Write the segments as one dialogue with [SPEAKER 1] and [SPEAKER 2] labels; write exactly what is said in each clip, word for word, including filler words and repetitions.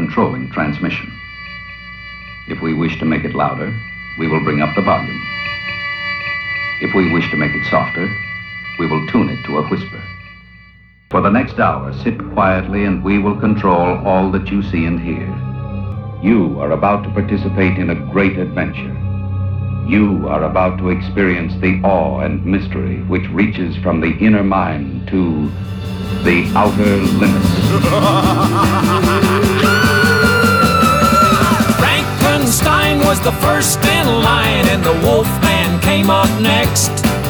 [SPEAKER 1] controlling transmission. If we wish to make it louder, we will bring up the volume. If we wish to make it softer, we will tune it to a whisper. For the next hour, sit quietly and we will control all that you see and hear. You are about to participate in a great adventure. You are about to experience the awe and mystery which reaches from the inner mind to the outer limits.
[SPEAKER 2] Frankenstein was the first in line and the Wolfman came up next.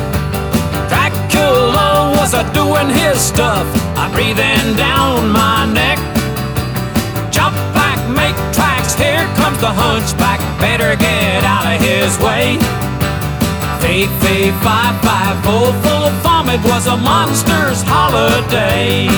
[SPEAKER 2] Dracula was a-doing his stuff, a-breathing down my neck. Jump back, make tracks, here comes the hunchback, better get out of his way. Fee, fee, fi, fi, full, full vomit was a monster's holiday.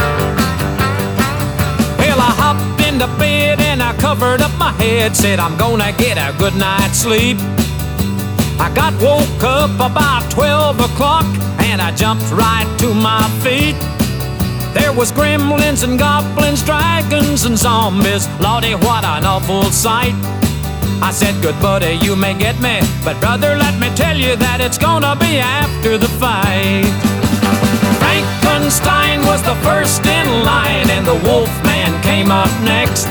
[SPEAKER 2] Well, I hopped into bed and I covered up my head, said I'm gonna get a good night's sleep. I got woke up about twelve o'clock and I jumped right to my feet. There was gremlins and goblins, dragons and zombies. Lordy, what an awful sight. I said, good buddy, you may get me, but brother, let me tell you that it's gonna be after the fight. Frankenstein was the first in line and the Wolfman came up next.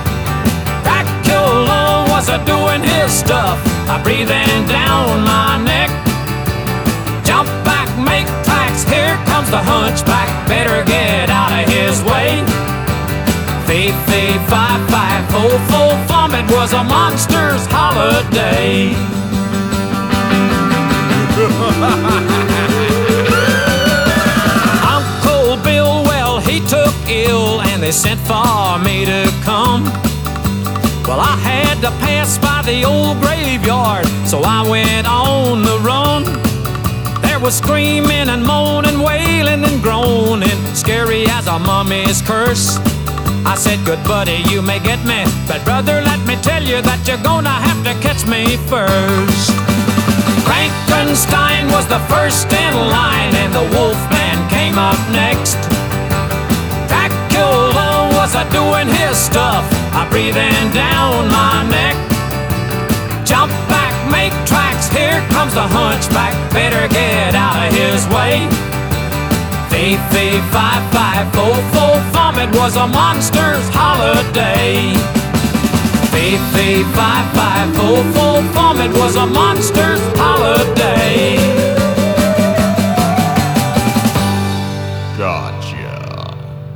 [SPEAKER 2] Dracula was a-doing his stuff, a-breathing down my neck. Jump back, make tracks, here comes the hunchback, better get out of his way. Fee, fee, fi, fi, full, full vomit was a monster's holiday. Uncle Bill, well, he took ill and they sent for me to come. Well, I had to pass by the old graveyard, so I went on the run. There was screaming and moaning, wailing and groaning, scary as a mummy's curse. I said, good buddy, you may get me, but brother, let me tell you that you're gonna have to catch me first. Frankenstein was the first in line and the Wolfman came up next. Dracula was a-doing his stuff, a-breathing down my neck. Jump back, make tracks, here comes the hunchback, better get out of his way. Fee, fee, fi, fi, full, full vomit was a monster's holiday. Fee, fee, fi, fi, full, full vomit was a monster's holiday.
[SPEAKER 3] Gotcha.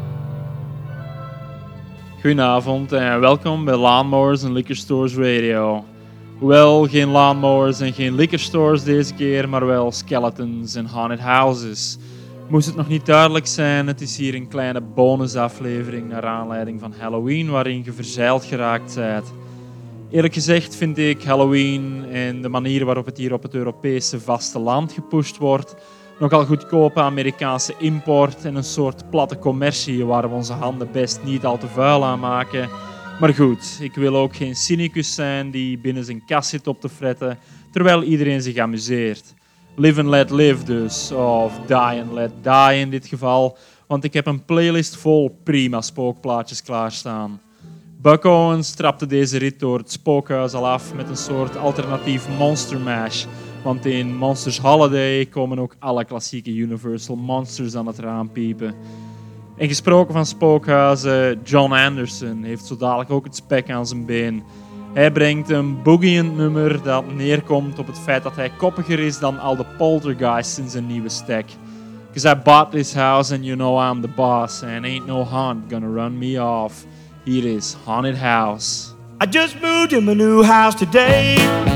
[SPEAKER 4] Goedenavond en welkom bij Lawnmowers and Liquor Stores Radio. Hoewel geen lawnmowers en geen liquor stores deze keer, maar wel skeletons en haunted houses. Moest het nog niet duidelijk zijn, het is hier een kleine bonusaflevering naar aanleiding van Halloween waarin je verzeild geraakt bent. Eerlijk gezegd vind ik Halloween en de manier waarop het hier op het Europese vasteland gepusht wordt nogal goedkope Amerikaanse import en een soort platte commercie waar we onze handen best niet al te vuil aan maken. Maar goed, ik wil ook geen cynicus zijn die binnen zijn kast zit op te fretten terwijl iedereen zich amuseert. Live and let live dus, of die and let die in dit geval, want ik heb een playlist vol prima spookplaatjes klaarstaan. Buck Owens trapte deze rit door het spookhuis al af met een soort alternatief Monster Mash, want in Monsters Holiday komen ook alle klassieke Universal Monsters aan het raam piepen. En gesproken van spookhuizen, John Anderson heeft zo dadelijk ook het spek aan zijn been. Hij brengt een boogieend nummer dat neerkomt op het feit dat hij koppiger is dan al de poltergeists in zijn nieuwe stack. Cause I bought this house and you know I'm the boss and ain't no haunt gonna run me off. Here is Haunted House.
[SPEAKER 5] I just moved in my new house today.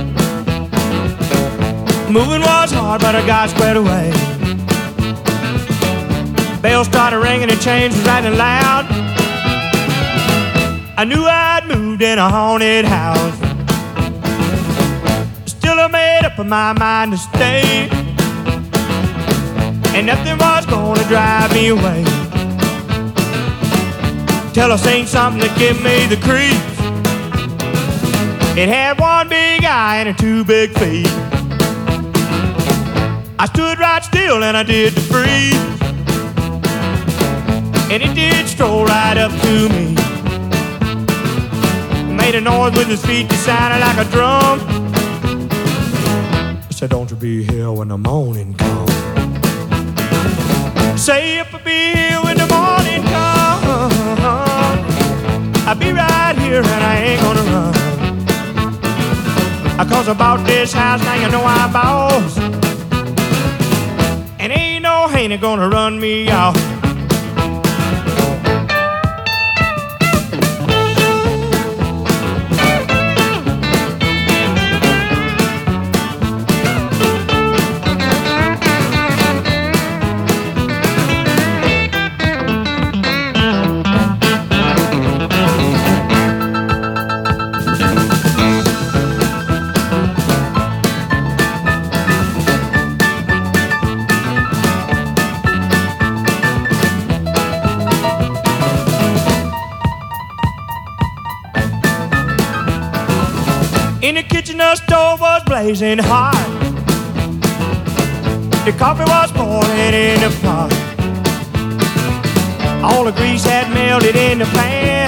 [SPEAKER 5] Moving was hard but I got squared away. Bells started ringing and chains was rattling loud. I knew I'd moved in a haunted house. Still I made up my mind to stay, and nothing was gonna drive me away. Till I seen something that give me the creeps. It had one big eye and two big feet. I stood right still and I did the freeze, and it did stroll right up to me. made a noise with his feet that sounded like a drum. He said, don't you be here when the morning comes. Say if I be here when the morning comes, I'll be right here and I ain't gonna run. Cause about this house now you know I'm boss, and ain't no hater gonna run me off. In the kitchen, the stove was blazing hot. The coffee was boiling in the pot. All the grease had melted in the pan.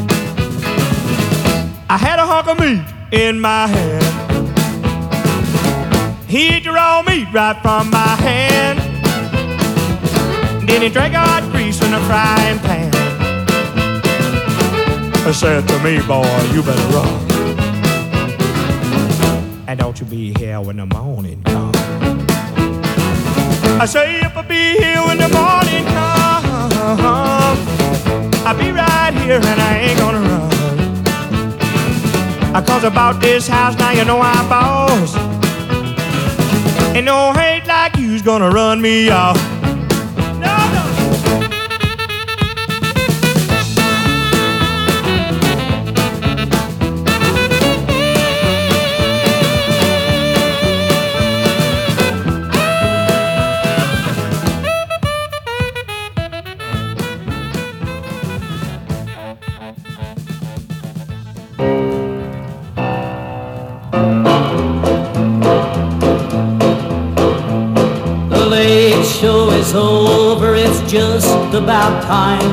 [SPEAKER 5] I had a hunk of meat in my hand. He ate the raw meat right from my hand. Then he drank hot grease from the frying pan. He said to me, boy, you better run. And don't you be here when the morning comes. I say if I be here when the morning comes, I'll be right here and I ain't gonna run. Cause about this house now you know I'm boss, and no hate like you's gonna run me off. No, no.
[SPEAKER 3] Show is over, it's just about time.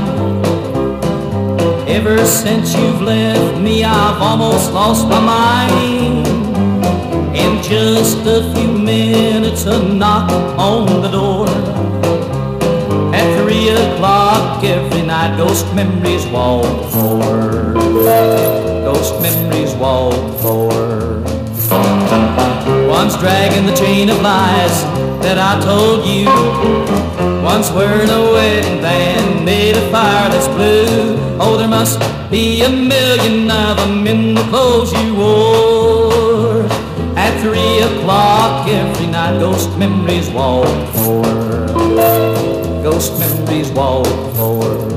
[SPEAKER 3] Ever since you've left me, I've almost lost my mind. In just a few minutes, a knock on the door. At three o'clock every night, ghost memories walk forward. Ghost memories walk forward. Once dragging the chain of lies that I told you, once wearing a wedding band made of fire that's blue. Oh, there must be a million of them in the clothes you wore. At three o'clock every night, ghost memories walk forward. Ghost memories walk forward.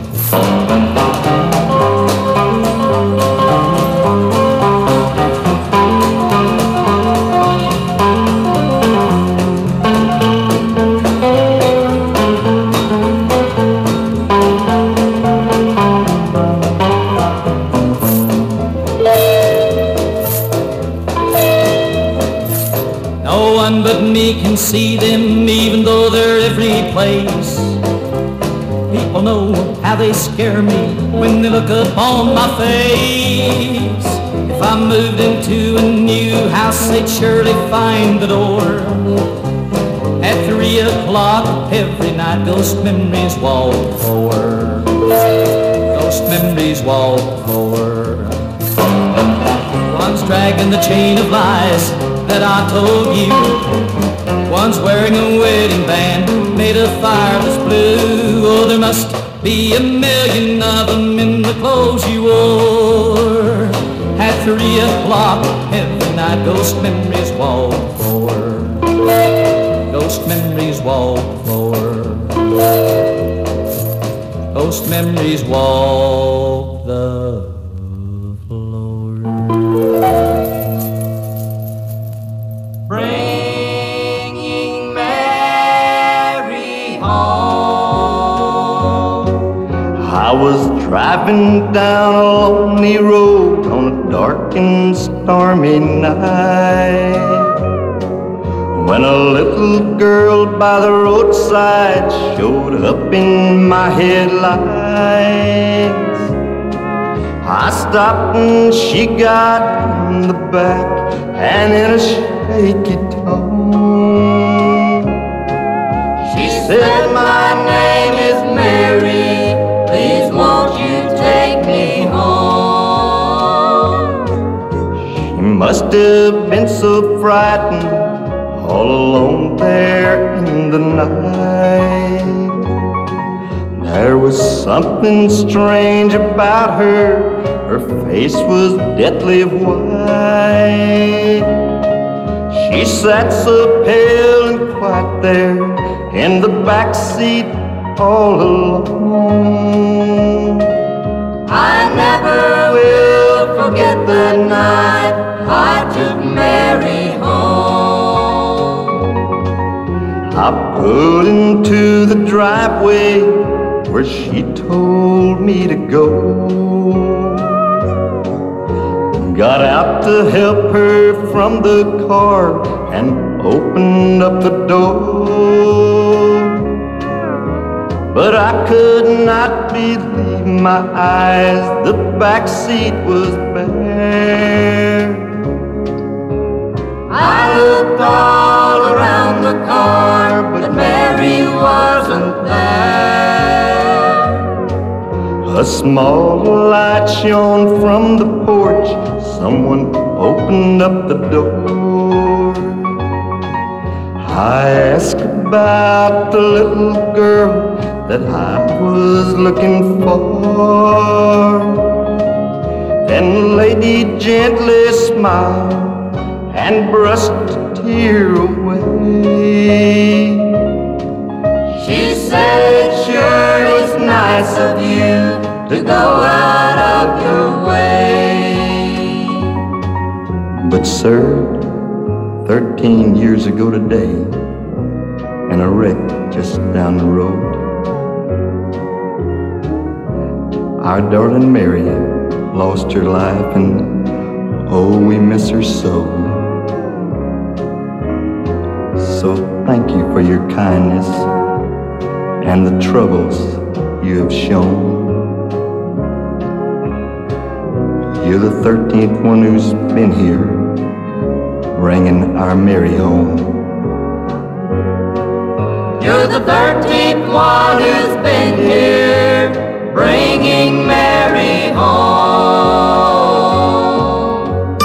[SPEAKER 3] But me can see them even though they're every place. People know how they scare me when they look up on my face. If I moved into a new house, they'd surely find the door. At three o'clock every night, ghost memories walk forward. Ghost memories walk forward. Once dragging the chain of lies that I told you, once wearing a wedding band made of fire that's blue. Oh, there must be a million of them in the clothes you wore. At three o'clock every night, ghost memories walk forward. Ghost memories walk forward. Ghost memories walk the bringing Mary home.
[SPEAKER 6] I was driving down a lonely road on a dark and stormy night, when a little girl by the roadside showed up in my headlights. I stopped and she got in the back and in a shaky tone she said, my name is Mary, please won't you take me home. She must have been so frightened all alone there in the night. There was something strange about her, her face was deathly white. She sat so pale and quiet there in the back seat all alone. I never will forget the night I took Mary home. I pulled into the driveway where she told me to go. Got out to help her from the car and opened up the door. But I could not believe my eyes, the back seat was bare. I looked all around the car, but Mary wasn't there. A small light shone from the porch, someone opened up the door. I asked about the little girl that I was looking for. Then the lady gently smiled and brushed a tear away. She said, it sure is nice of you to go out of your way. But sir, thirteen years ago today, in a wreck just down the road, our darling Mary lost her life, and oh, we miss her so. So thank you for your kindness and the troubles you have shown. You're the thirteenth one who's been here, bringing our Mary home. You're the thirteenth one who's been here, bringing Mary home.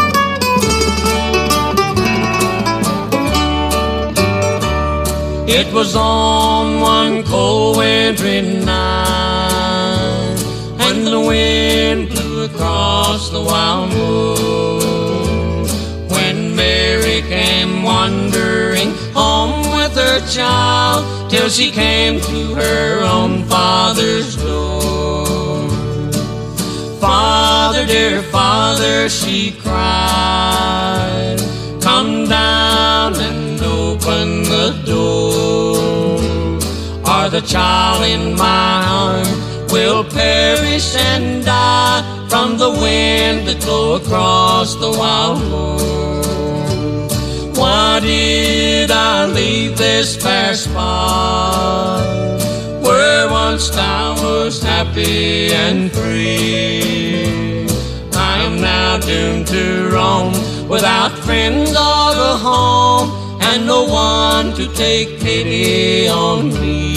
[SPEAKER 3] It was on one cold wintry night, and the wind blew across the wild moor, when Mary came wandering home with her child, till she came to her own father's door. Father, dear Father, she cried, come down and open the door, or the child in my arms will perish and die from the wind that blew across the wild moor. Why did I leave this fair spot, where once I was happy and free? I am now doomed to roam, without friends or a home, and no one to take pity on me.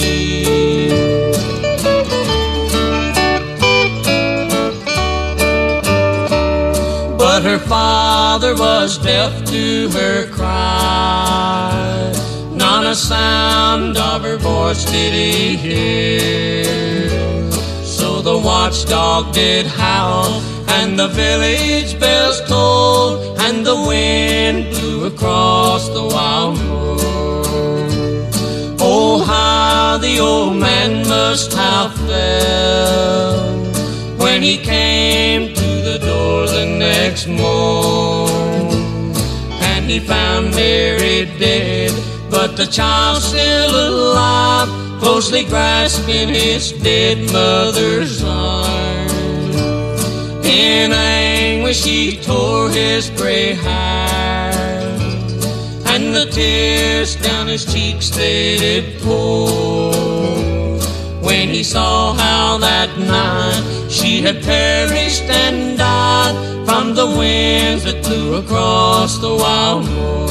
[SPEAKER 3] But her father was deaf to her cry, not a sound of her voice did he hear. So the watchdog did howl, and the village bells tolled, and the wind blew across the wild moor. Oh, how the old man must have felt when he came to the door the next morn, and he found Mary dead, but the child still alive, closely grasping his dead mother's arm. In anguish he tore his gray hair, and the tears down his cheeks they did pour, when he saw how that night she had perished and died from the winds that blew across the wild moor.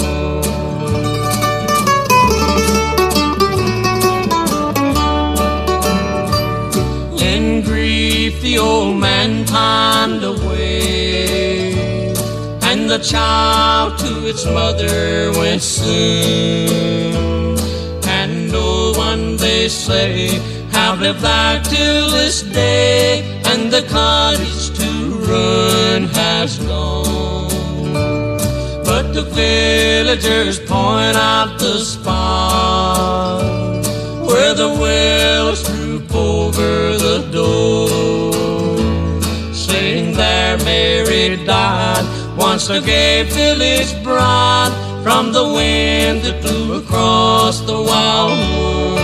[SPEAKER 3] In grief the old man pined away, and the child to its mother went soon. And no one, they say, have lived there till this day, and the cottage to ruin has gone. But the villagers point out the spot where the willows droop over the door, saying there Mary died, once a gay village bride, from the wind that blew across the wild moor.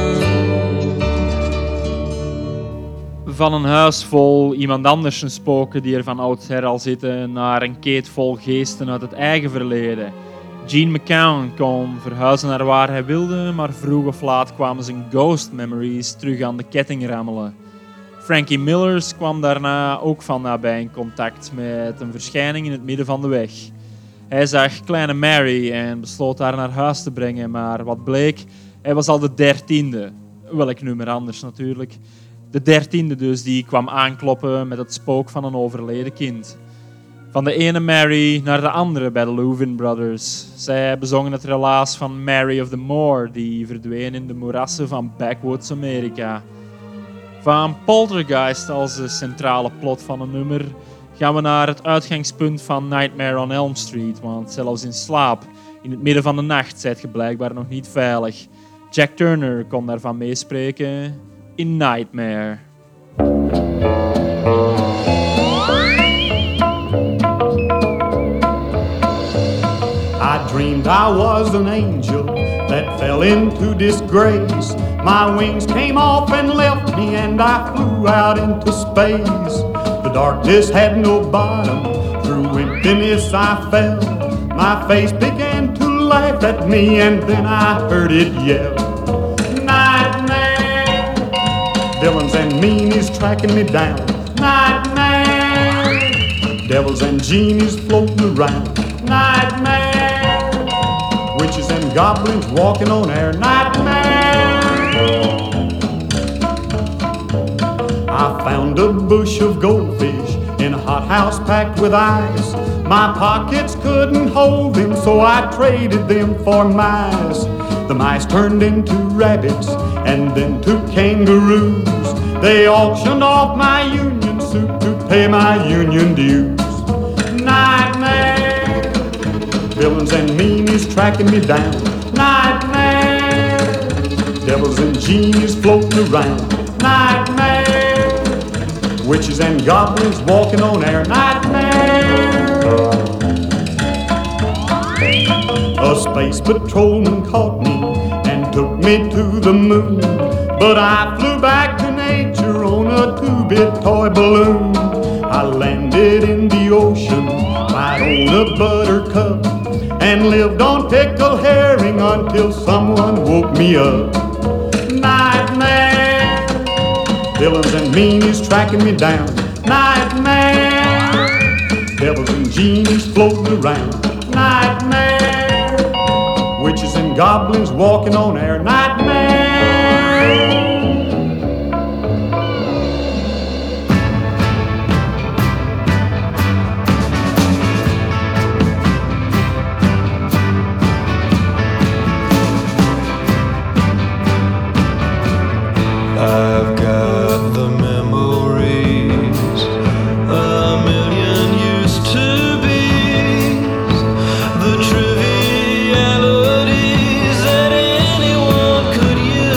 [SPEAKER 4] Van een huis vol iemand anders een spoken die er van oudsher al zitten, naar een keet vol geesten uit het eigen verleden. Gene McCown kon verhuizen naar waar hij wilde, maar vroeg of laat kwamen zijn ghost memories terug aan de ketting rammelen. Frankie Millers kwam daarna ook van nabij in contact met een verschijning in het midden van de weg. Hij zag kleine Mary en besloot haar naar huis te brengen, maar wat bleek, hij was al de dertiende. Welk nummer anders natuurlijk. De dertiende dus, die kwam aankloppen met het spook van een overleden kind. Van de ene Mary naar de andere bij de Louvin Brothers. Zij bezongen het relaas van Mary of the Moor, die verdween in de moerassen van backwoods Amerika. Van Poltergeist als de centrale plot van een nummer gaan we naar het uitgangspunt van Nightmare on Elm Street, want zelfs in slaap, in het midden van de nacht, zijt je blijkbaar nog niet veilig. Jack Turner kon daarvan meespreken in Nightmare.
[SPEAKER 5] I dreamed I was an angel that fell into disgrace. My wings came off and left me, and I flew out into space. The darkness had no bottom, through emptiness I fell. My face began to laugh at me, and then I heard it yell. Nightmare, villains and meanies tracking me down. Nightmare, devils and genies floating around. Nightmare, witches and goblins walking on air. Nightmare, I found a bush of goldfish in a hothouse packed with ice. My pockets couldn't hold them, so I traded them for mice. The mice turned into rabbits and then to kangaroos. They auctioned off my union suit to pay my union dues. Nightmare, villains and meanies tracking me down. Nightmare, devils and genies floating around. Nightmare, witches and goblins walking on air. Nightmare, a space patrolman caught me and took me to the moon, but I flew back to nature on a two-bit toy balloon. I landed in the ocean right on a buttercup and lived on pickled herring until someone woke me up. Nightmare, villains and meanies tracking me down. Nightmare, devils and genies floating around. Nightmare, witches and goblins walking on air. Nightmare.
[SPEAKER 7] I've got the memories a million used to be, the trivialities that anyone could use.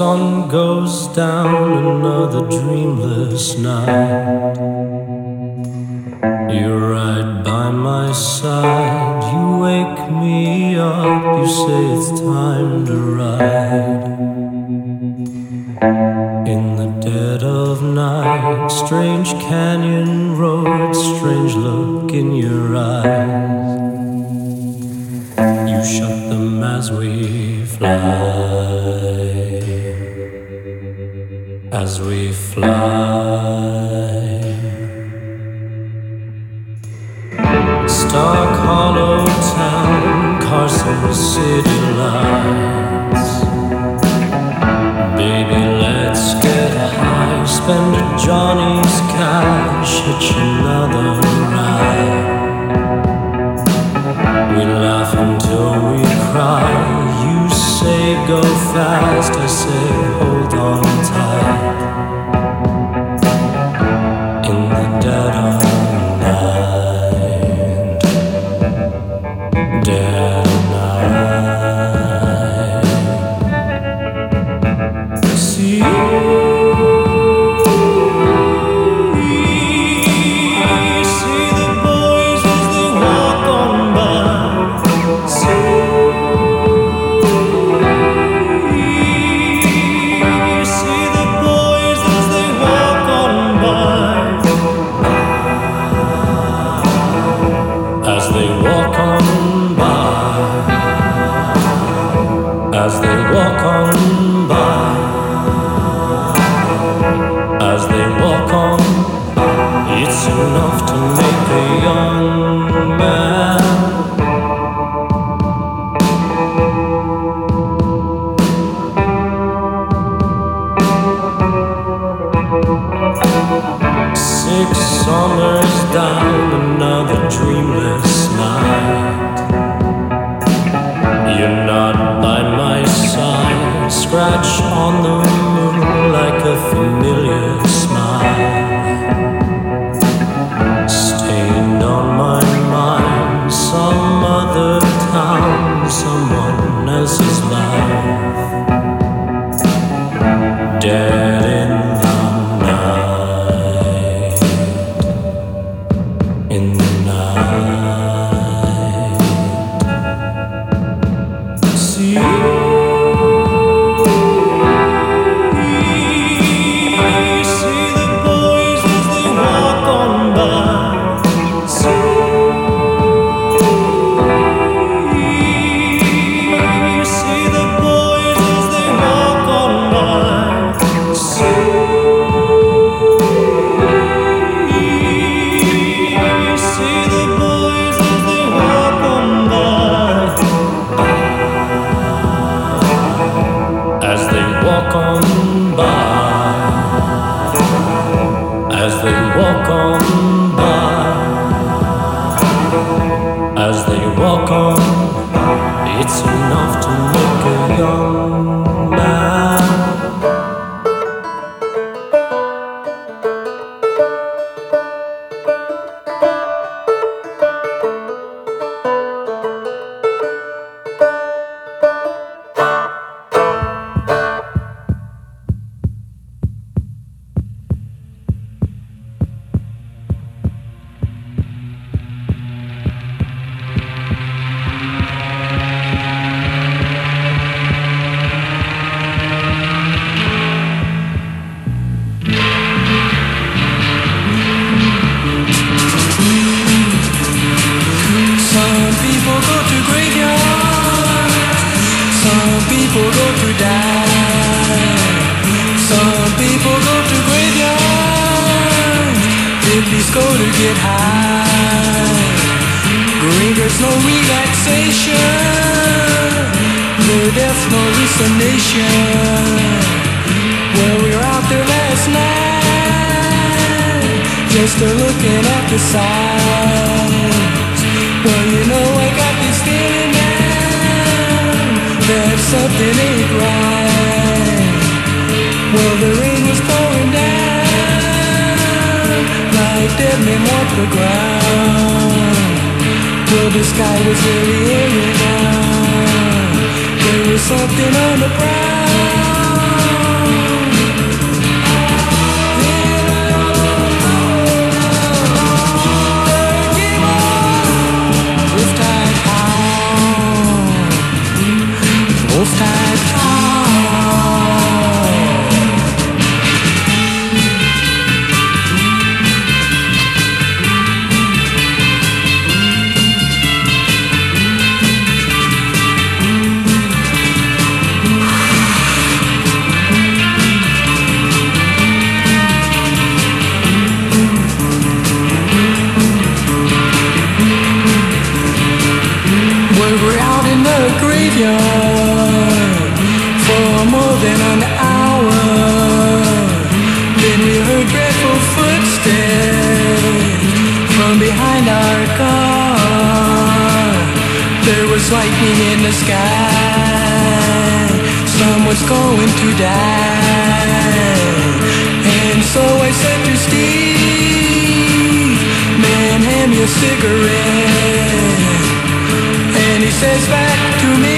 [SPEAKER 3] sun goes down, another dreamless night. You're right by my side, you wake me up, you say it's time to ride. In the dead of night, strange canyon road, strange look in your eyes. You shut them as we fly, as we fly. Stark Hollow Town, Carson City lights. Baby, let's get high, spend Johnny's cash, hitch another ride. We laugh until we cry. You say go fast, I say hold on tight. In the dead of night, dead night. See you. As they walk on by, as they walk on, it's enough to make a young man. Six summers down, another dreamless night. You're not by my side, scratch on the moon like a familiar smile. Stained on my mind, some other town, someone else's life. Dead in the night, in the night. See you. It's enough to make a young man.
[SPEAKER 8] Something on the ground.
[SPEAKER 3] Wolfpack Hall. Graveyard for more than an hour. Then we heard dreadful footsteps from behind our car. There was lightning in the sky. Someone's going to die. And so I said to Steve, man, hand me a cigarette. And he says back to me,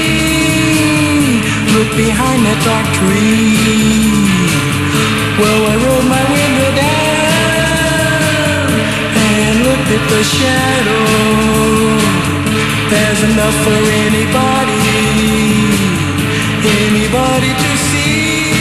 [SPEAKER 3] look behind that dark tree. Well, I rolled my window down and looked at the shadow. There's enough for anybody, anybody to see.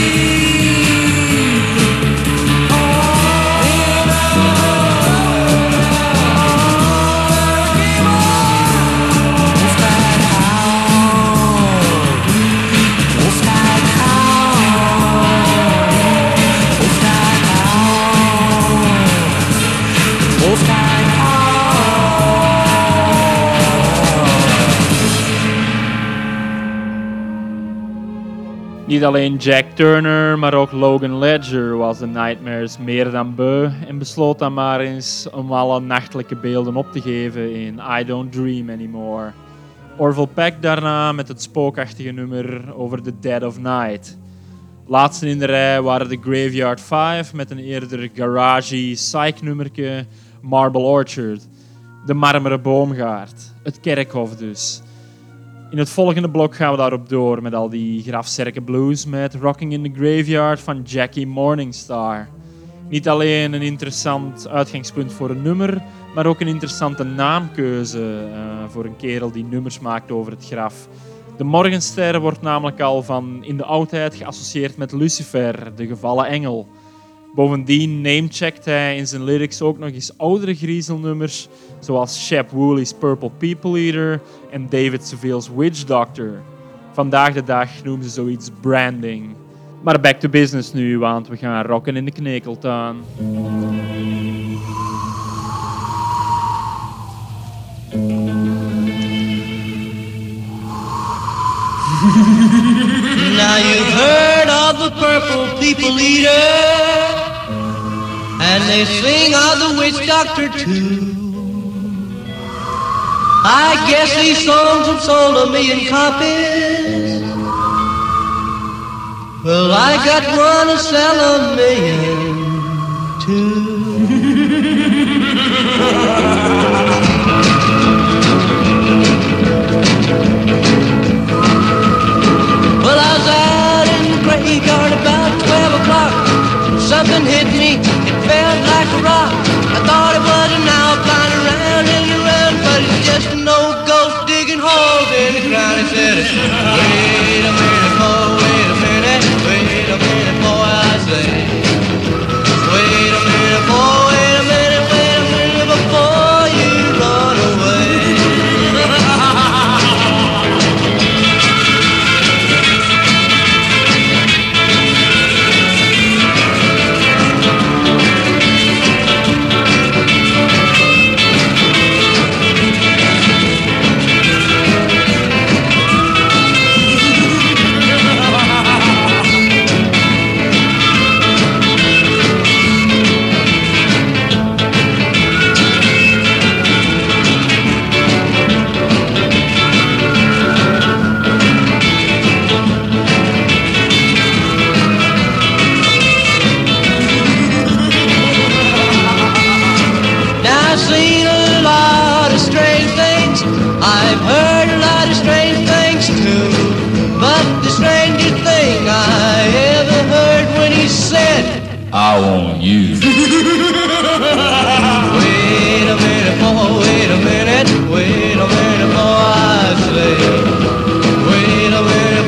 [SPEAKER 4] Niet alleen Jack Turner, maar ook Logan Ledger was de Nightmares meer dan beu en besloot dan maar eens om alle nachtelijke beelden op te geven in I Don't Dream Anymore. Orville Peck daarna met het spookachtige nummer over The Dead of Night. Laatste in de rij waren de Graveyard vijf met een eerder garagey psych-nummerke Marble Orchard. De marmeren boomgaard, het kerkhof dus. In het volgende blok gaan we daarop door met al die grafzerke blues met Rocking in the Graveyard van Jackie Morningstar. Niet alleen een interessant uitgangspunt voor een nummer, maar ook een interessante naamkeuze uh, voor een kerel die nummers maakt over het graf. De Morgenster wordt namelijk al van in de oudheid geassocieerd met Lucifer, de gevallen engel. Bovendien namecheckt hij in zijn lyrics ook nog eens oudere griezelnummers, zoals Shep Woolley's Purple People Eater en David Seville's Witch Doctor. Vandaag de dag noemen ze zoiets branding. Maar back to business nu, want we gaan rocken in de knekeltuin.
[SPEAKER 8] Now you've heard of the Purple People Eater, and they sing of the Witch Doctor too. I guess these songs have sold a million copies. Well, I got one to sell a million too. Well, I was out in the graveyard about twelve o'clock. Something hit me, it felt like a rock. I thought it was an owl flying around and around, but it's just an old ghost digging holes in the ground. It said, wait a minute, boy, wait a minute, wait a minute, boy, I say. Wait a minute, boy, wait a minute, wait a minute before you run away. I've heard a lot of strange things too, but the strangest thing I ever heard when he said,
[SPEAKER 9] I want you.
[SPEAKER 8] Wait a minute, boy, wait a minute, wait a minute, boy, I say. Wait a minute.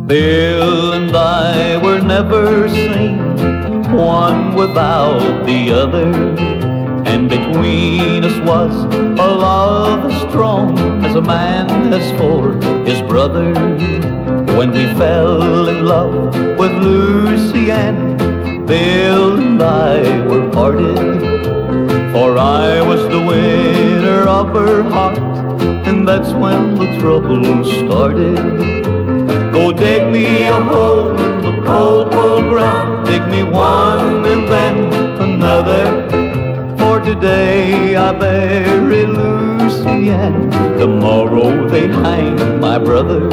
[SPEAKER 6] Bill and I were never seen, one without the other, and between us was a love as strong as a man has for his brother. When we fell in love with Lucy Ann, Bill and I were parted, for I was the winner of her heart, and that's when the trouble started. Go dig me a hole in the cold, cold ground, dig me one and then another, for today I bury Lucy Ann, tomorrow they hang my brother.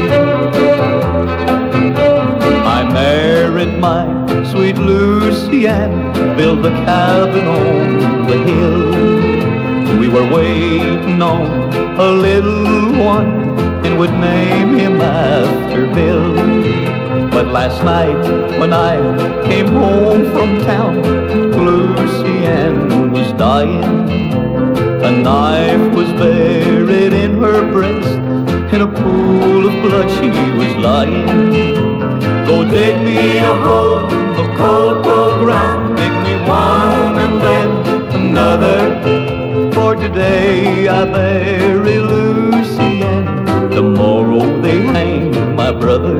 [SPEAKER 6] I married my sweet Lucy Ann, built a cabin on the hill. We were waiting on a little one, and would name him after Bill. But last night when I came home from town, Lucy Ann was dying. A knife was buried in her breast, in a pool of blood she was lying. Go dig me a hole in the cold, cold ground, dig me one and then another, for today I bury Lucy Ann, tomorrow they hang my brother.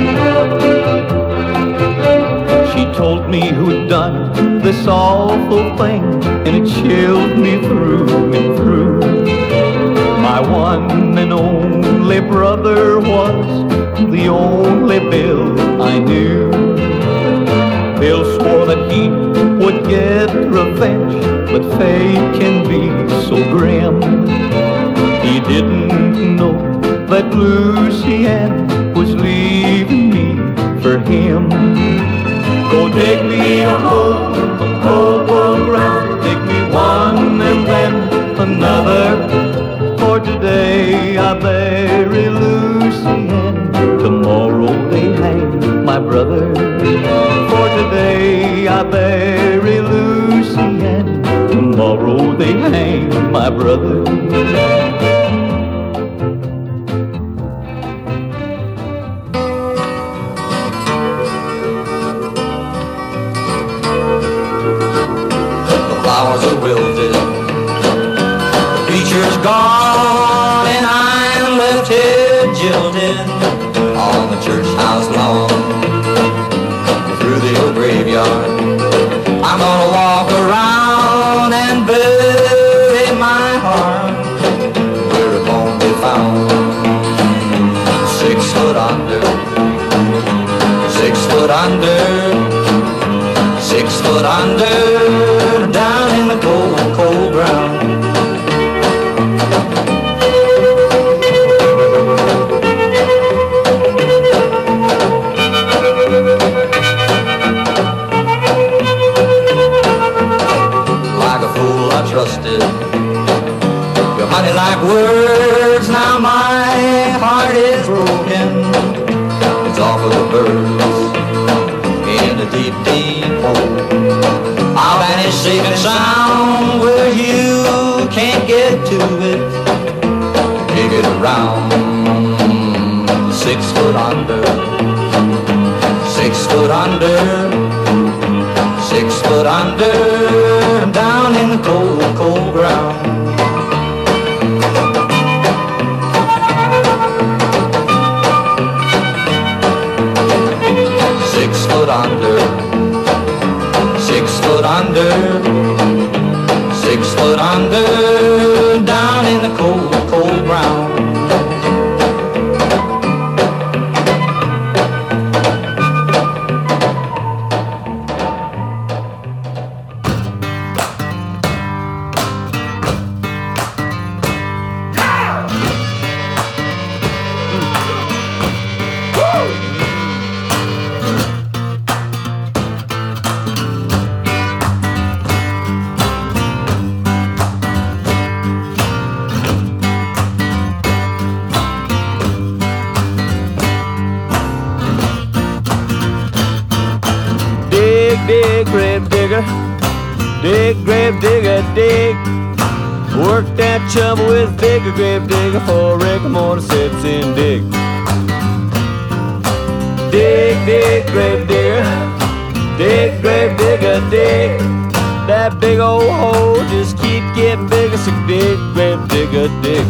[SPEAKER 6] She told me who'd done this awful thing, and it chilled me through and through. My one and only brother was the only Bill I knew. Bill swore that he would get revenge, but fate can be so grim. He didn't know that Lucy Ann was leaving me for him. Go dig me a hole in the cold, cold ground, dig me one and then another, for today I bury Lucy Ann, tomorrow they hang my brother. For today I bury Lucy Ann, tomorrow they hang my brother.
[SPEAKER 8] Flowers are wilted, the preacher's gone, and I'm left here jilted on the church house lawn. Through the old graveyard, I'm gonna walk around and bury my heart where it won't be found. Six foot under, six foot under, six foot under, down in the cold, cold ground. Like a fool I trusted your honey-like words, now my heart is broken. It's all for the birds in the deep, deep hole. I'll vanish safe and sound where you can't get to it. Dig it around. Six foot under, six foot under, six foot under, down in the cold, cold ground. Six foot under, six foot under, six foot under, down in the cold, cold ground.
[SPEAKER 10] Dig, grave digger, dig, grave digger, dig. Work that shovel with vigor, grave digger, for Rick Moore sits in dig. dig, dig, grave digger. Dig, grave digger, dig. That big old hole just keep getting bigger, so dig, grave digger, dig.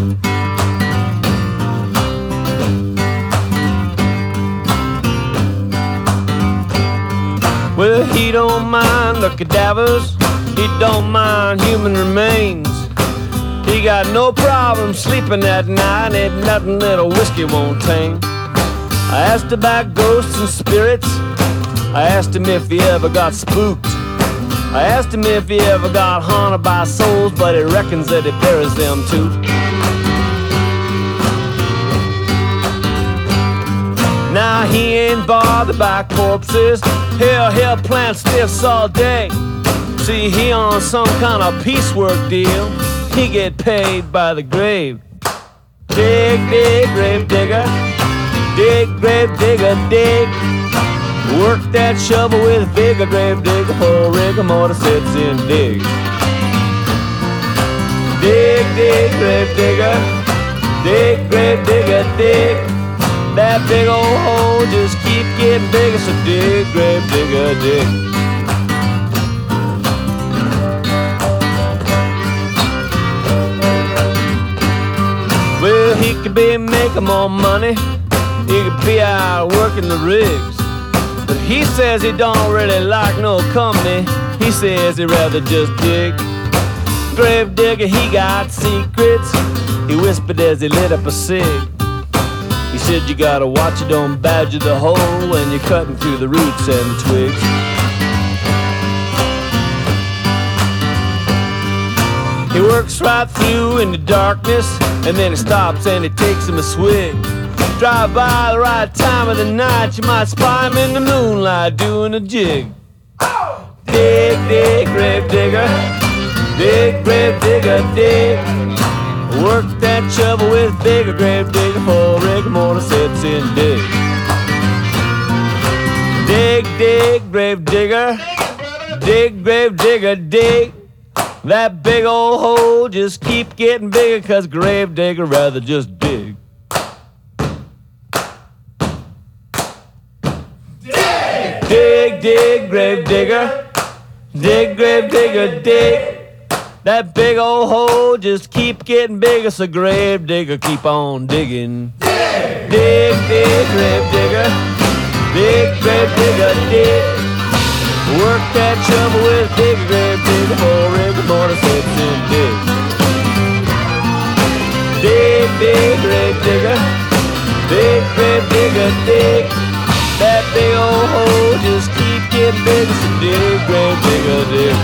[SPEAKER 10] Well, he don't mind the cadavers, he don't mind human remains. He got no problem sleeping at night, ain't nothing that a whiskey won't tame. I asked about ghosts and spirits, I asked him if he ever got spooked. I asked him if he ever got haunted by souls, but he reckons that he buries them too. Now he ain't bothered by corpses, hell, he'll plant stiffs all day. See, he on some kind of piecework deal, he get paid by the grave. Dig, dig, grave digger, dig, grave digger, dig. Work that shovel with vigor, grave digger, for rigor mortis sets in, dig. Dig, dig, grave digger, dig, grave digger, dig. That big old hole just keep getting bigger, so dig, grave digger, dig. Well, he could be making more money, he could be out working the rigs, but he says he don't really like no company, he says he'd rather just dig. Grave digger, he got secrets, he whispered as he lit up a cig. He said you gotta watch it, don't badger the hole when you're cutting through the roots and the twigs. He works right through in the darkness, and then he stops and he takes him a swig. Drive by the right time of the night, you might spy him in the moonlight doing a jig. Dig, dig, grave digger, dig, grave digger, dig. Work that shovel with vigor, grave digger, for rigor mortis sets in, dig. Dig, dig, grave digger, dig, grave digger, dig. That big old hole just keep getting bigger, cause grave digger rather just dig. Dig, dig, dig, grave digger, dig, grave digger, dig. That big old hole just keep getting bigger, so grave digger keep on digging. Dig, dig, dig, grave digger, dig, grave digger, dig. Work that shovel with big grave digger, for rigor mortis sets in, dig. Dig, dig, grave digger, dig, grave digger, dig. That big old hole just keep getting bigger, so dig, grave digger, dig.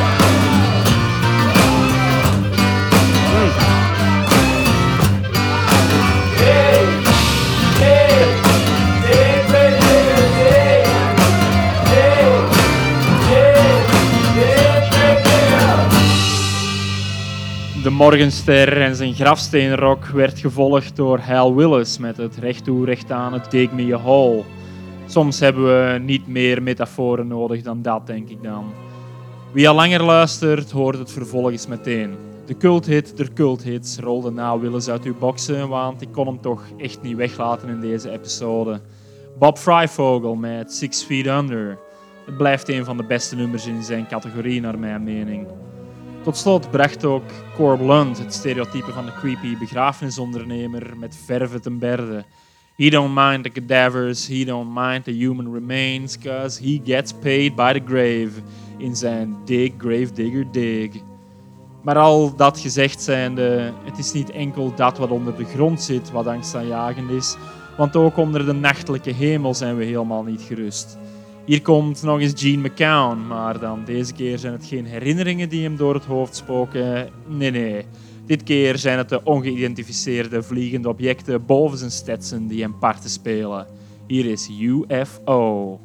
[SPEAKER 4] De Morgenster en zijn grafsteenrok werd gevolgd door Hal Willis met het recht toe recht aan het Dig Me a Hole. Soms hebben we niet meer metaforen nodig dan dat, denk ik dan. Wie al langer luistert, hoort het vervolg eens meteen. De culthit der culthits rolde na Willis uit uw boxen, want ik kon hem toch echt niet weglaten in deze episode. Bob Fryvogel met Six Feet Under. Het blijft een van de beste nummers in zijn categorie, naar mijn mening. Tot slot bracht ook Corb Lund het stereotype van de creepy begrafenisondernemer met verve ten berde. He don't mind the cadavers, he don't mind the human remains, cause he gets paid by the grave in zijn Dig, Grave Digger, Dig. Maar al dat gezegd zijnde, het is niet enkel dat wat onder de grond zit wat angstaanjagend is, want ook onder de nachtelijke hemel zijn we helemaal niet gerust. Hier komt nog eens Gene McCown, maar dan deze keer zijn het geen herinneringen die hem door het hoofd spoken. Nee, nee. Dit keer zijn het de ongeïdentificeerde vliegende objecten boven zijn Stetson die hem parten spelen. Hier is U F O.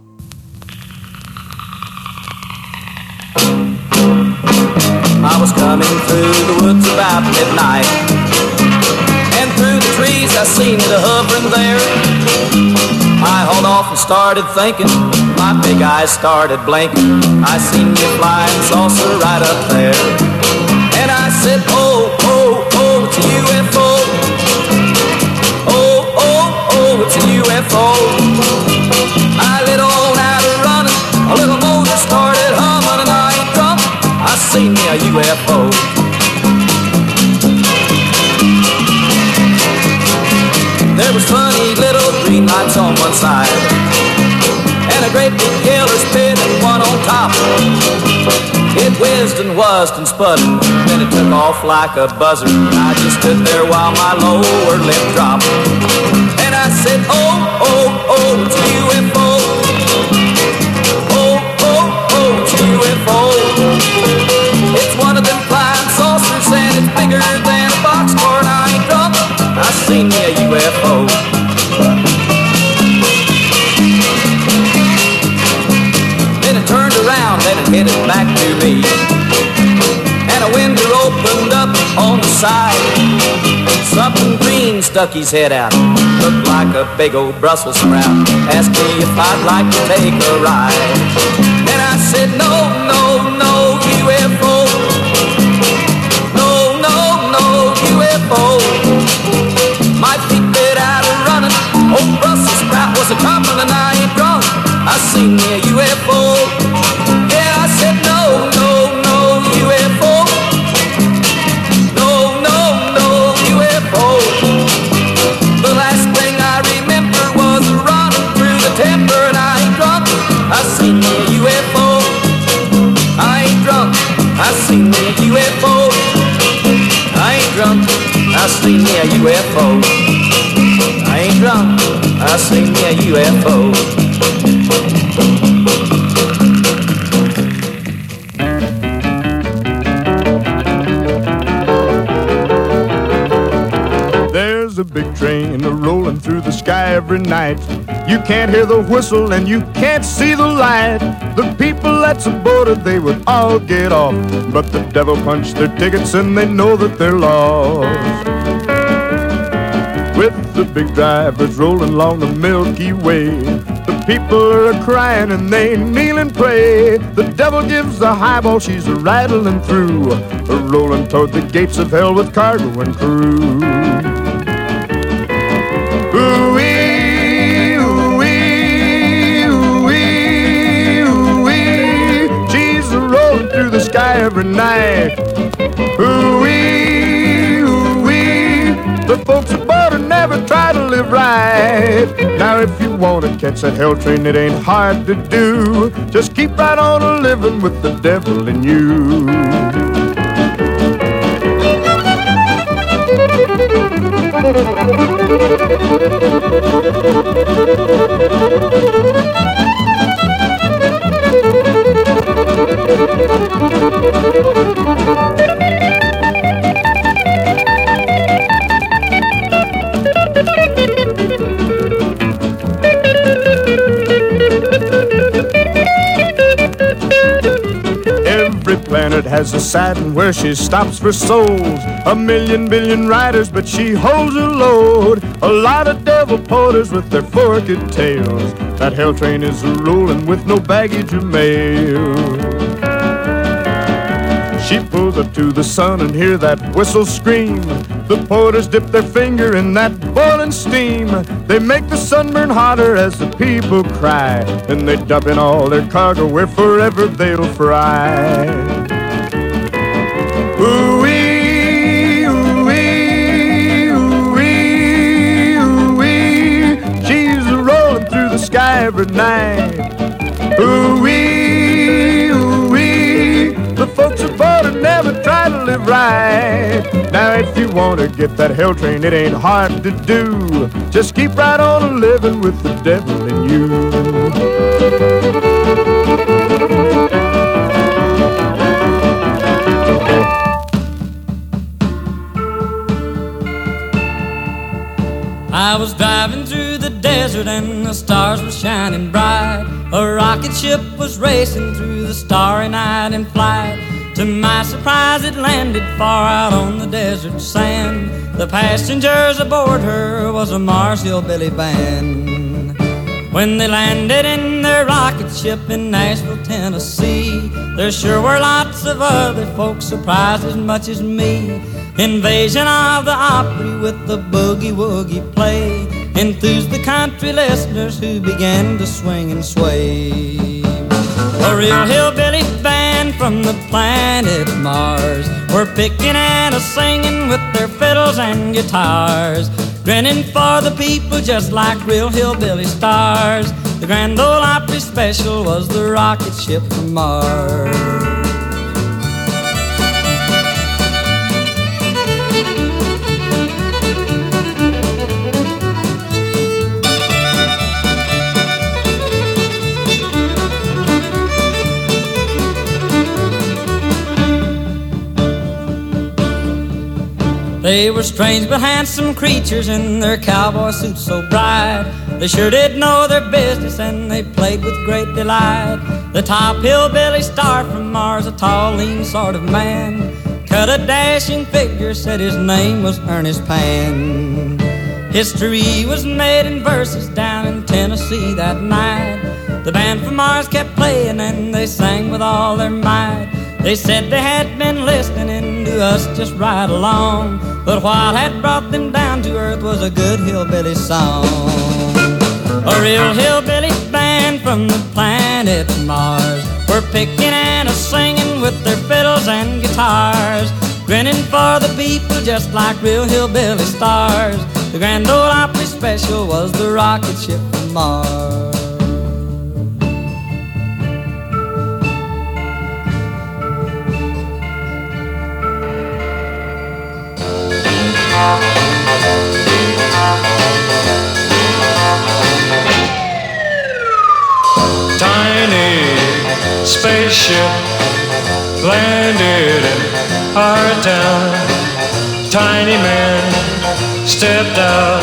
[SPEAKER 3] I was coming through the woods about midnight, and through the trees I seen the hovering there. I hauled off and started thinking, my big eyes started blinking. I seen you flying saucer right up there, and I said, oh, oh, oh, it's a U F O. Oh, oh, oh, it's a U F O. I side, and a great big killer's pit and one on top. It whizzed and wuzzed and sputtered, then it took off like a buzzard. I just stood there while my lower lip dropped, and I said, oh, oh, oh, it's a U F O. Oh, oh, oh, it's a U F O. It's one of them flying saucers and it's bigger than a boxcar, and I ain't drunk, I seen me a U F O. Then it turned around and it headed back to me, and a window opened up on the side. Something green stuck his head out, looked like a big old Brussels sprout. Asked me if I'd like to take a ride, and I said no, no, no, U F O. No, no, no, U F O. My feet bit out of running, old Brussels sprout was a coming, and I ain't drunk, I seen me a U F O. Yeah, I said no, no, no, U F O. No, no, no, U F O. The last thing I remember was running through the timber, and I ain't drunk, I seen me a U F O. I ain't drunk, I seen me a U F O. I ain't drunk, I seen me a U F O. I ain't drunk, I seen me a U F O.
[SPEAKER 5] There's a big train a-rolling through the sky every night. You can't hear the whistle and you can't see the light. The people that's aboard, they would all get off, but the devil punched their tickets and they know that they're lost. With the big drivers rolling along the Milky Way, the people are crying and they kneel and pray. The devil gives the highball, she's a rattling through, a rolling toward the gates of hell with cargo and crew. Ooh-wee, ooh-wee, ooh-wee, ooh-wee, she's a rolling through the sky every night. Ooh-wee, ooh-wee, the folks aboard her never try to live right. Now if you want to catch that hell train, it ain't hard to do. Just keep right on a living with the devil in you. Every planet has a Saturn where she stops for souls. A million billion riders, but she holds her load. A lot of devil porters with their forked tails. That hell train is a-rolling with no baggage or mail. She pulls up to the sun and hear that whistle scream. The porters dip their finger in that boiling steam. They make the sun burn hotter as the people cry. Then they dump in all their cargo where forever they'll fry. Ooh-wee, ooh-wee, ooh-wee, ooh-wee, she's a-rolling through the sky every night. Ooh-wee, ooh-wee, the folks aboard her never try to live right. Now if you want to get that hell train, it ain't hard to do. Just keep right on a living with the devil in you.
[SPEAKER 3] I was driving through the desert and the stars were shining bright. A rocket ship was racing through the starry night in flight. To my surprise it landed far out on the desert sand. The passengers aboard her was a Mars Hillbilly band. When they landed in their rocket ship in Nashville, Tennessee, there sure were lots of other folks surprised as much as me. Invasion of the Opry with the boogie-woogie play enthused the country listeners who began to swing and sway. A real hillbilly band from the planet Mars were picking and a-singing with their fiddles and guitars. grinning for the people just like real hillbilly stars. The Grand Ole Opry special was the rocket ship from Mars. They were strange but handsome creatures in their cowboy suits so bright. They sure did know their business and they played with great delight. The top hillbilly star from Mars, a tall, lean sort of man, cut a dashing figure, said his name was Ernest Pan. History was made in verses down in Tennessee that night. The band from Mars kept playing and they sang with all their might. They said they had been listening to us just right along, but what had brought them down to earth was a good hillbilly song. A real hillbilly band from the planet Mars were picking and a-singing with their fiddles and guitars, grinning for the people just like real hillbilly stars. The Grand Ole Opry special was the rocket ship from Mars.
[SPEAKER 7] Tiny spaceship landed in our town. Tiny man stepped out.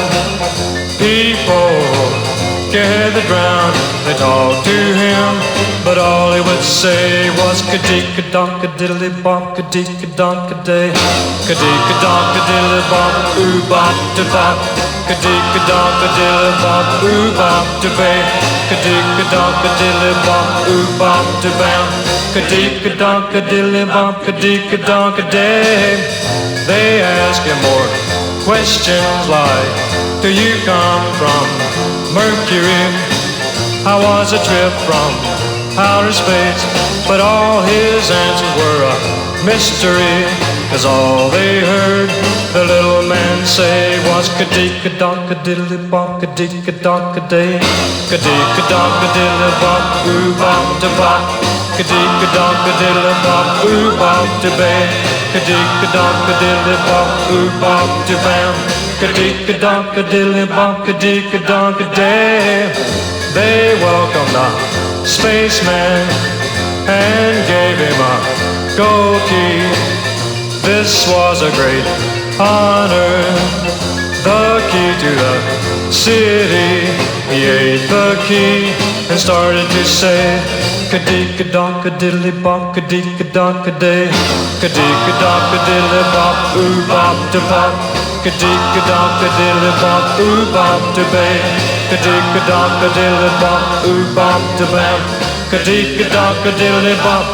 [SPEAKER 7] People gathered round. They talked to him, but all he would say was ka-dee-ka-donk-a-diddly-bonk, ka-dee-ka-donk-a-day, ka-dee-ka-donk-a-diddly-bonk, ooh-bop-da-bop, ka-dee-ka-donk-a-diddly-bonk, ooh-bop-da-bay, ka-dee-ka-donk-a-diddly-bonk, ooh-bop-da-bam, ka-dee-ka-donk-a-diddly-bonk, ka-dee-ka-donk-a-day. They ask him more questions like, do you come from Mercury? How was a trip from outer space? But all his answers were a mystery, 'cause all they heard the little man say was ka-dee-ka-donk-a-diddly-bonk, ka-dee-ka-donk-a-day, ka-dee-ka-donk-a-diddly-bonk, ooh-bop-da-bop, ka-dee-ka-donk-a-diddly-bonk, ooh-bop-da-bay, ka-dee-ka-donk-a-diddly-bonk, ooh-bop-da-bam, ka-dee-ka-donk-a-diddly-bonk, ka-dee-ka-donk-a-day. They welcomed the spaceman and gave him a gold key. This was a great honor, the key to the city. He ate the key and started to say ka-dee-ka-donk-a-diddly-bonk, ka-dee-ka-donk-a-day, ka-dee-ka-donk-a-diddly-bonk, ooh-bop-da-bop, ka-dee-ka-donk-a-diddly-bonk, ooh-bop-da-bay, ka-dee-ka-donk-a-diddly-bonk, ooh-bop-da-bam, ka-dee-ka-donk-a-diddly-bonk.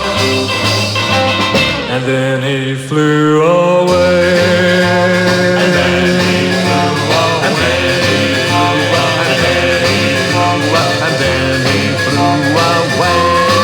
[SPEAKER 7] And then he flew away. And then he flew away. And then he flew away. And then he flew away.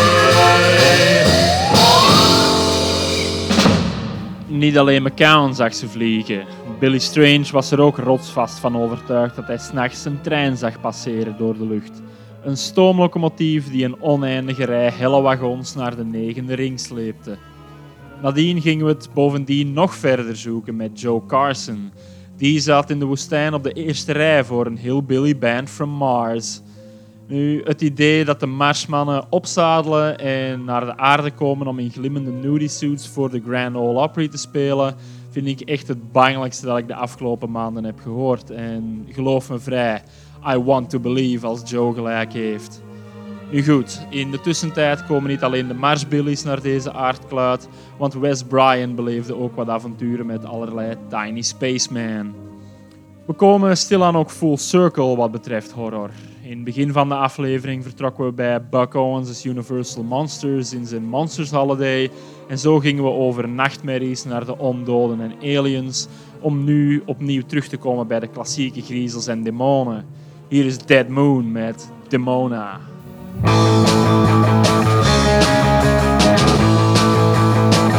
[SPEAKER 4] Niet alleen McCown zag ze vliegen. Billy Strange was er ook rotsvast van overtuigd dat hij 's nachts een trein zag passeren door de lucht. Een stoomlocomotief die een oneindige rij helle wagons naar de negende ring sleepte. Nadien gingen we het bovendien nog verder zoeken met Joe Carson. Die zat in de woestijn op de eerste rij voor een hillbilly band from Mars. Nu, het idee dat de Marsmannen opzadelen en naar de aarde komen om in glimmende nudie suits voor de Grand Ole Opry te spelen, vind ik echt het bangelijkste dat ik de afgelopen maanden heb gehoord. En geloof me vrij, I want to believe als Joe gelijk heeft. Nu goed, in de tussentijd komen niet alleen de Marsbillies naar deze aardkluit, want Wes Bryan beleefde ook wat avonturen met allerlei Tiny Spaceman. We komen stilaan ook full circle wat betreft horror. In het begin van de aflevering vertrokken we bij Buck Owens' Universal Monsters in zijn Monsters Holiday en zo gingen we over nachtmerries naar de ondoden en aliens om nu opnieuw terug te komen bij de klassieke griezels en demonen. Hier is Dead Moon met Demona.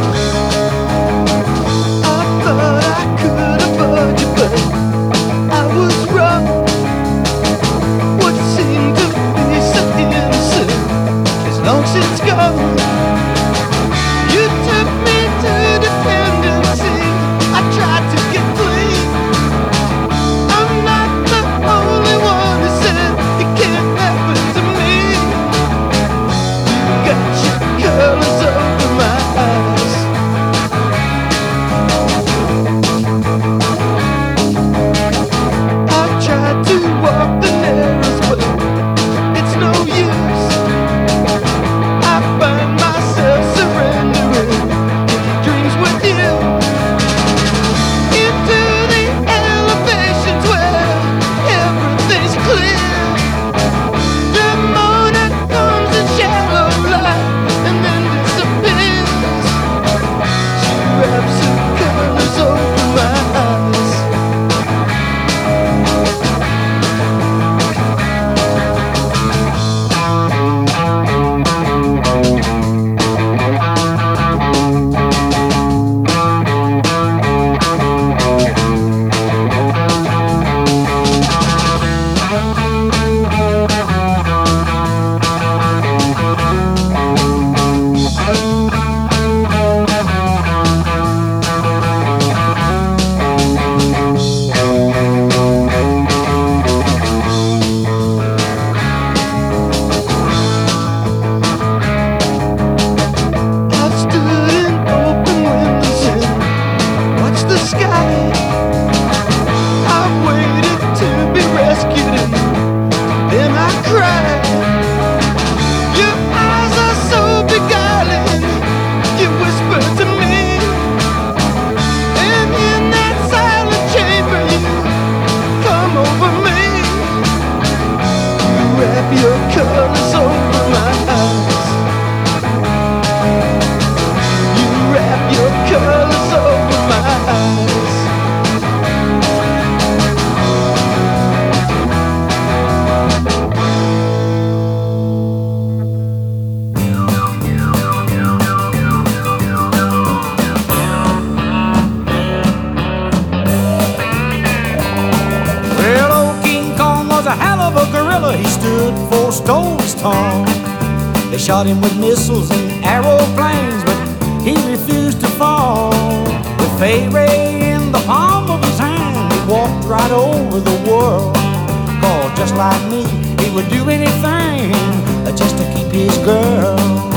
[SPEAKER 11] I thought I could avoid you, but I
[SPEAKER 8] patience gone. You took me to dependency. I tried to get clean. I'm not the only one who said it can't happen to me. You got your colors over my eyes. I've tried to walk the narrow way. It's no use. I find myself surrendering dreams with you into the elevations where everything's clear. The morning comes in shallow light and then disappears. She wraps her colors over my eyes. I've stood in open windows and watched the sky. I've waited to be rescued and then I cried. Your eyes are so beguiling, you whisper to me. And in that silent chamber you come over me. You wrap your colors over my eyes. You wrap your colors over my eyes.
[SPEAKER 3] Well, old King Kong was a hell of a gorilla. He stood four stories tall. They shot him with missiles and aeroplanes, but he refused to fall. With Fay Ray in the palm of his hand, he walked right over the world. Cause just like me, he would do anything just to keep his girl.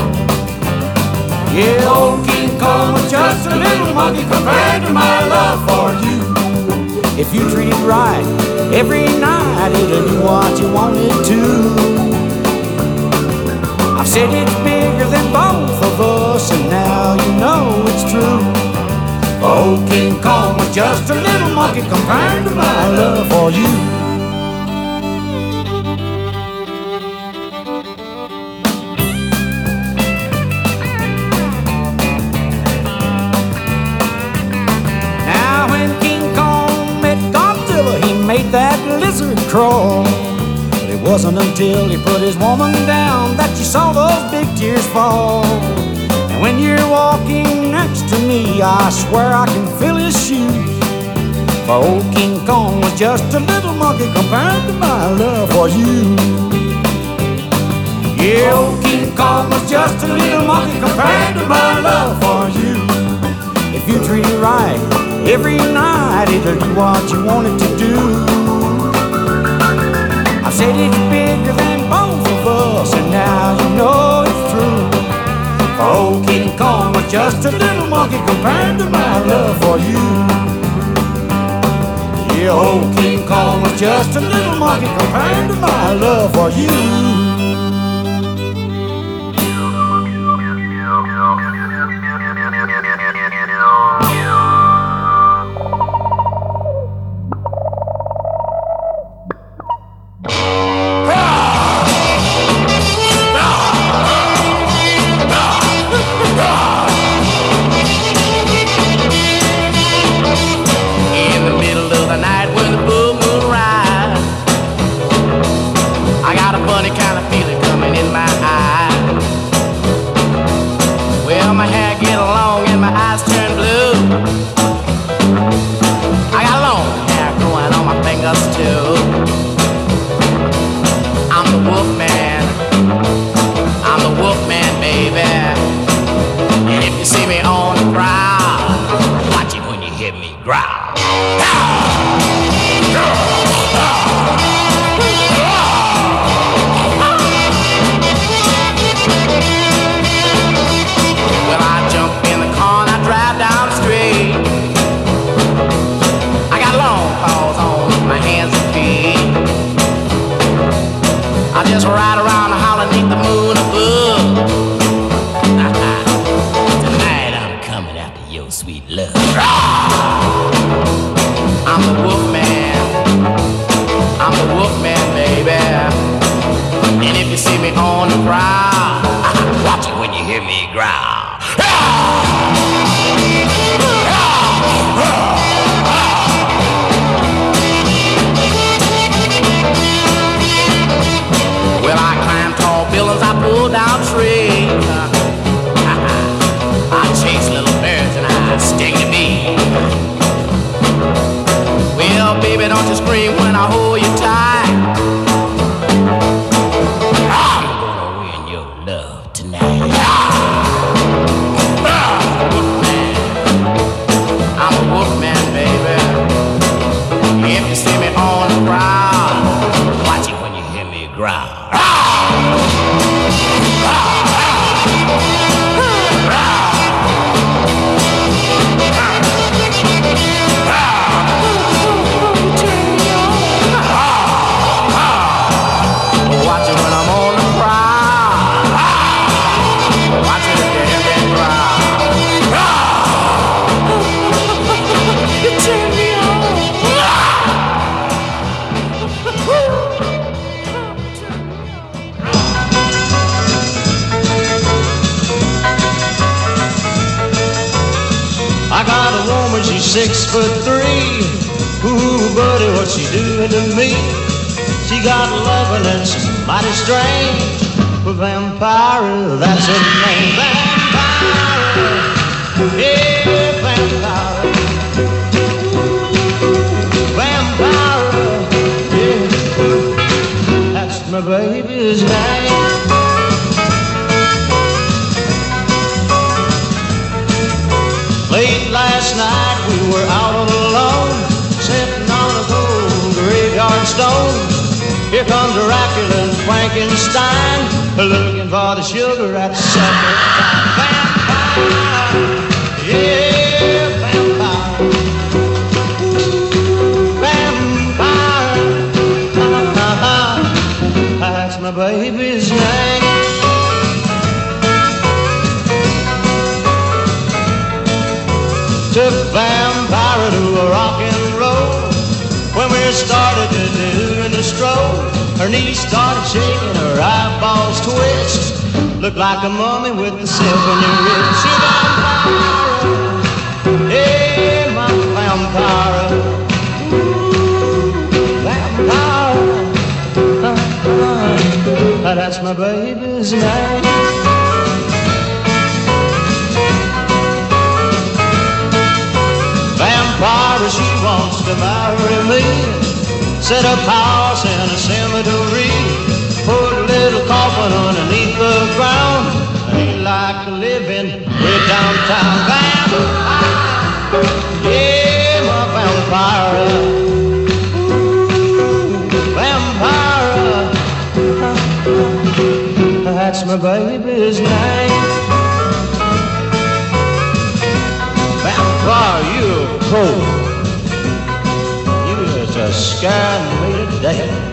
[SPEAKER 3] Yeah, old King Kong was just a little monkey compared to my love for you. If you treat it right, every night it'll do what you want it to. I've said it's bigger than both of us, and now you know it's true. Old King Kong was just a little monkey compared to my love for you. Now when King Kong met Godzilla, he made that lizard crawl. But it wasn't until he put his woman down that you saw those big tears fall. And when you're walking next to me, I swear I can feel his shoes. For old King Kong was just a little monkey compared to my love for you. Yeah, old King Kong was just a little monkey compared to my love for you. If you treat it right, every night it'll do what you want it to do. I said it's bigger than both of us, and now you know it's true. For old King Kong was just a little monkey compared to my love for you. Yeah, old King Kong was just a little monkey compared to my love for you.
[SPEAKER 8] I'm the wolf man. I'm the wolf man.
[SPEAKER 11] I just ride around the holler neath the moon above. Tonight I'm coming after your sweet love. I'm the wolf man. I'm the wolf man, baby. And if you see me on the prowl, watch it when you hear me growl. Well, I climb tall buildings, I pull down trees. I chase little birds and I sting the bee. Well, baby, don't you scream when I hold you tight. I'm gonna win your love tonight. I'm a wolf man, baby. If you see me on the prowl, watch it when you hear me growl. Watch it when I'm on the prowl. Watch it if you hear me growl. You turn me on.
[SPEAKER 12] I got a woman, she's six foot three. Ooh, buddy, what's she doing to me? She got loving and she's mighty strange. But vampire, that's her name. Vampire, yeah, vampire. Vampire, yeah, that's my baby's name. Late last night we were out on the lawn, sitting on a cold graveyard stone. Here comes Dracula and Frankenstein, looking for the sugar at supper time. Vampire, yeah, vampire. Vampire, that's my baby's name. Took vampire to a rock and roll. When we started to do the stroll, her knees started shaking, her eyeballs twitched. Looked like a mummy with the silver wrist. She vampire, hey, my vampire. Ooh, vampire, uh, uh, that's my baby's name. Vampire, she wants to marry me. Set up house in a cemetery. Put a little coffin underneath the ground. Ain't like living way downtown. Vampire, yeah, my vampire. Ooh, vampire, that's my baby's name. Vampire, you cold. You just scared me to death.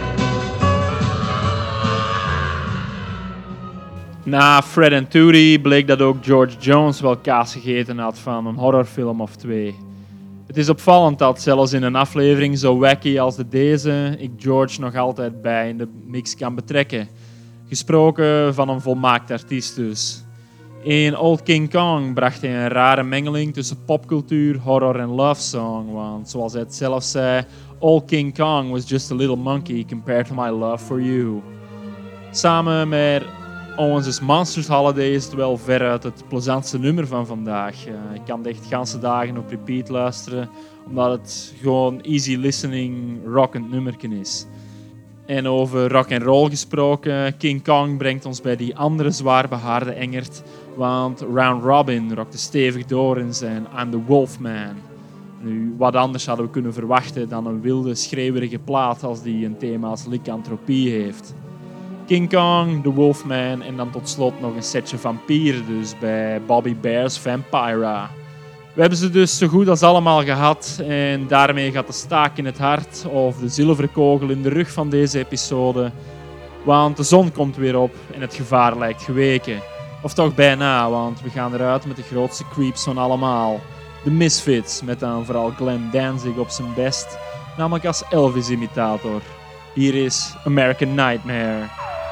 [SPEAKER 4] Na Fred en Tootie bleek dat ook George Jones wel kaas gegeten had van een horrorfilm of twee. Het is opvallend dat zelfs in een aflevering zo wacky als de deze ik George nog altijd bij in de mix kan betrekken. Gesproken van een volmaakt artiest dus. In Old King Kong bracht hij een rare mengeling tussen popcultuur, horror en love song. Want zoals hij het zelf zei, Old King Kong was just a little monkey compared to my love for you. Samen met Owens' Monsters Holiday is het wel veruit het plezantste nummer van vandaag. Uh, ik kan het echt ganse dagen op repeat luisteren, omdat het gewoon easy listening rockend nummerken is. En over rock and roll gesproken, King Kong brengt ons bij die andere zwaar behaarde engert, want Round Robin rockte stevig door in zijn I'm the Wolfman. Nu, wat anders hadden we kunnen verwachten dan een wilde, schreeuwerige plaat als die een thema als lycanthropie heeft. King Kong, The Wolfman en dan tot slot nog een setje vampieren dus bij Bobby Bear's Vampira. We hebben ze dus zo goed als allemaal gehad en daarmee gaat de staak in het hart of de zilveren kogel in de rug van deze episode Want de zon komt weer op en het gevaar lijkt geweken. Of toch bijna, want we gaan eruit met de grootste creeps van allemaal. De Misfits, met dan vooral Glenn Danzig op zijn best, namelijk als Elvis-imitator. Hier is American Nightmare.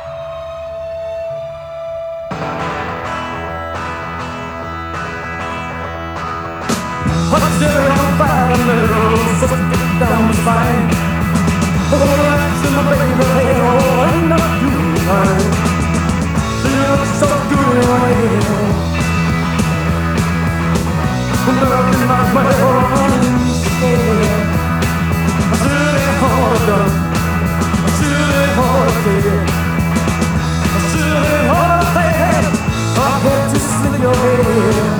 [SPEAKER 13] Down the spine. Oh, that's in my baby head. Oh, I know you mine. She looks so good in my head. Love in my way, running scared. I should have hard done. I should have hard said. I should have hard said. I had to slip your head.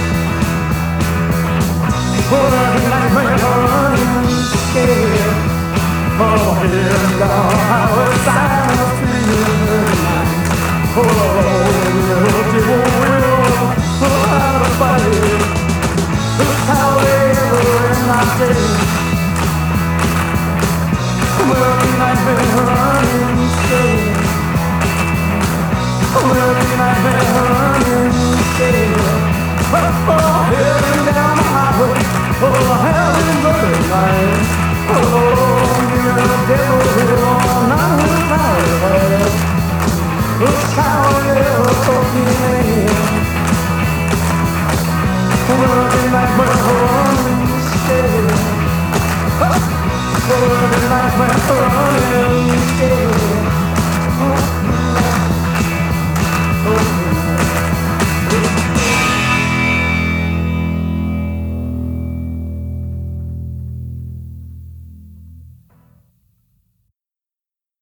[SPEAKER 13] Oh, that nightmare running scared. Oh, here and down, how it sounds to you tonight. Oh, little devil will, oh, how to fight it. Look how they were in my day. Well, the nightmare running scared. Well, the nightmare running scared. Oh, here and down the highway. Oh, heaven burning light. Oh, you're the devil will on our highway. Look how you're talking man. Working like we're running scared. Working like we're running